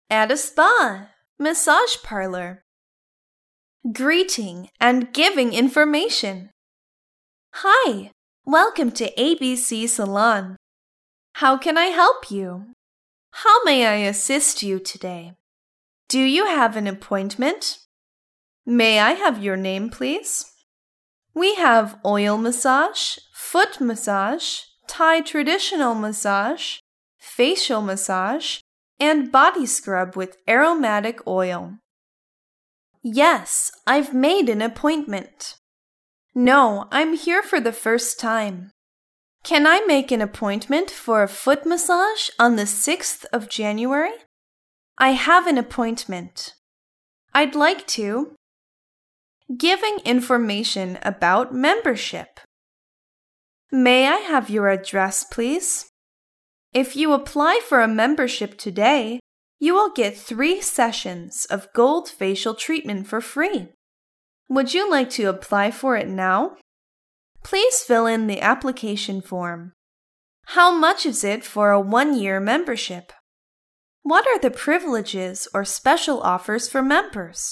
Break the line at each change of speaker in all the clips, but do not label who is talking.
At a spa, massage parlor. Greeting and giving information. Hi, welcome to ABC Salon. How can I help you? How may I assist you today? Do you have an appointment? May I have your name, please? We have oil massage, foot massage, Thai traditional massage, facial massage, and body scrub with aromatic oil. Yes, I've made an appointment. No, I'm here for the first time. Can I make an appointment for a foot massage on the 6th of January? I have an appointment. I'd like to. Giving information about membership. May I have your address, please? If you apply for a membership today, you will get 3 sessions of gold facial treatment for free. Would you like to apply for it now? Please fill in the application form. How much is it for a 1-year membership? What are the privileges or special offers for members?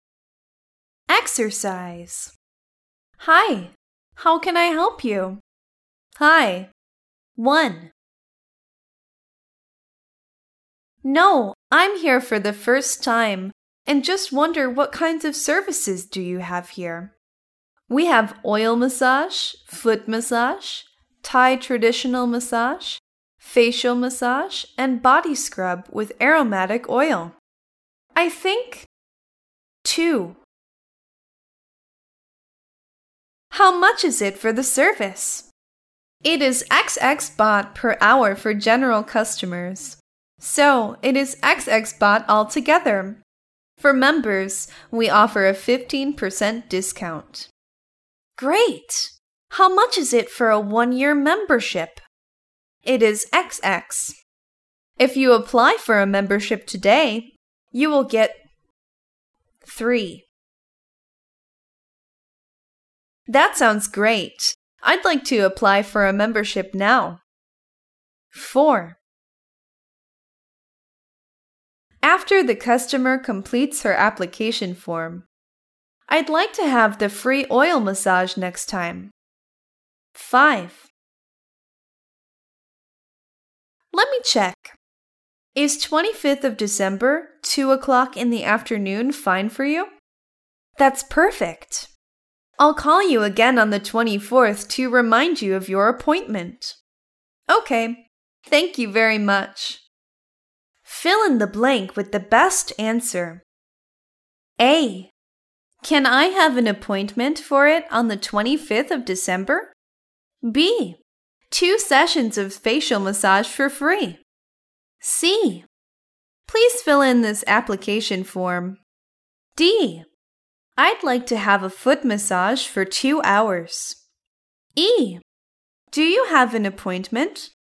Exercise. Hi, how can I help you? Hi. 1. No, I'm here for the first time and just wonder what kinds of services do you have here? We have oil massage, foot massage, Thai traditional massage, facial massage, and body scrub with aromatic oil. I think 2. How much is it for the service? It is XX baht per hour for general customers. So, it is XX baht altogether. For members, we offer a 15% discount. Great! How much is it for a 1-year membership? It is XX. If you apply for a membership today, you will get 3. That sounds great. I'd like to apply for a membership now. 4. After the customer completes her application form, I'd like to have the free oil massage next time. 5. Let me check. Is 25th of December, 2 o'clock in the afternoon fine for you? That's perfect. I'll call you again on the 24th to remind you of your appointment. Okay, thank you very much. Fill in the blank with the best answer. A. Can I have an appointment for it on the 25th of December? B. 2 sessions of facial massage for free. C. Please fill in this application form. D. I'd like to have a foot massage for 2 hours. E. Do you have an appointment?